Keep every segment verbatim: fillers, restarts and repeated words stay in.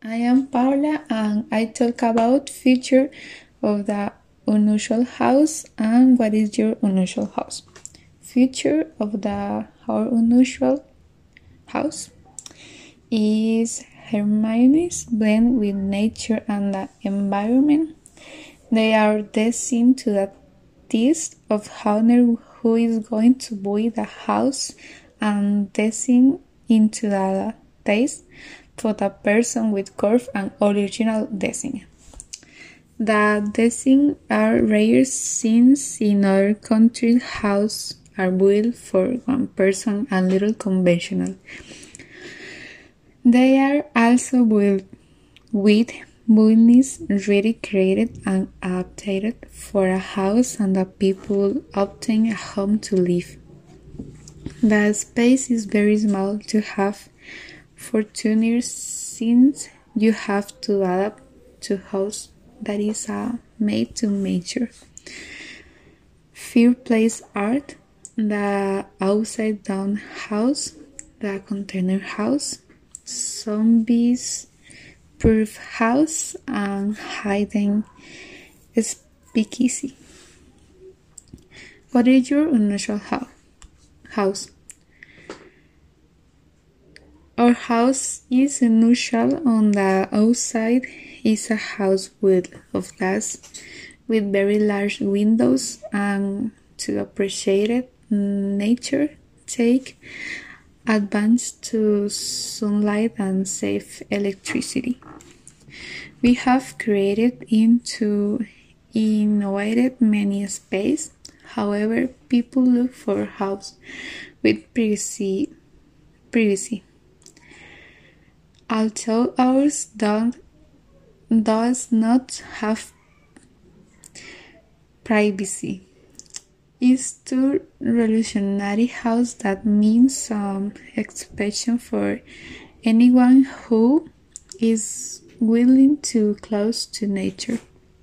I am Paula and I talk about feature of the unusual house and what is your unusual house. Feature of the our unusual house is Hermione's blend with nature and the environment. They are destined to the test of honor who is going to buy the house and destined into the taste for the person with curve and original design. The designs are rare since in other countries houses are built for one person and little conventional. They are also built with buildings ready created and adapted for a house and the people obtain a home to live. The space is very small to have for two years since you have to adapt to house that is uh, made to measure. Fireplace art, the upside down house, the container house, zombies proof house, and hidden speakeasy. What is your unusual house? Our house is unusual. On the outside is a house built of glass with very large windows, and to appreciate nature, take advantage to sunlight and save electricity. We have created into innovated many space. However, people look for a house with privacy. privacy. Although ours don't, does not have privacy, it's to revolutionary house that means some expression for anyone who is willing to close to nature,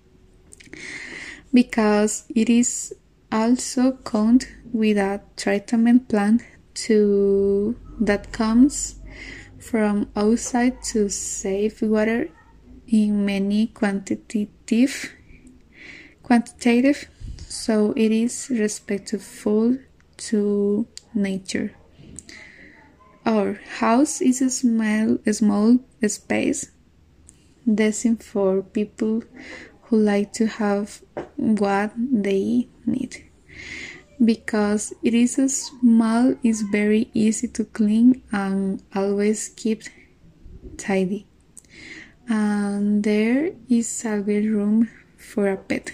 because it is also count with a treatment plant to that comes from outside to save water in many quantitative quantitative so it is respectful to nature. Our house is a small, a small space destined for people who like to have what they need. Because it is a small, it's very easy to clean and always keep tidy. And there is always room for a pet.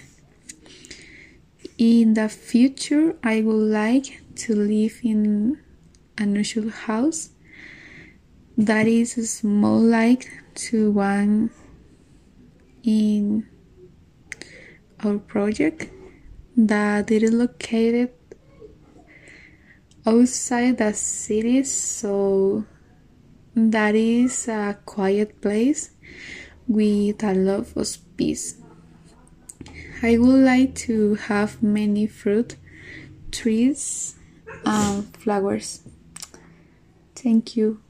In the future, I would like to live in an unusual house that is small, like to one in our project that it is located outside the city, so that is a quiet place with a lot of peace. I would like to have many fruit trees and flowers. Thank you.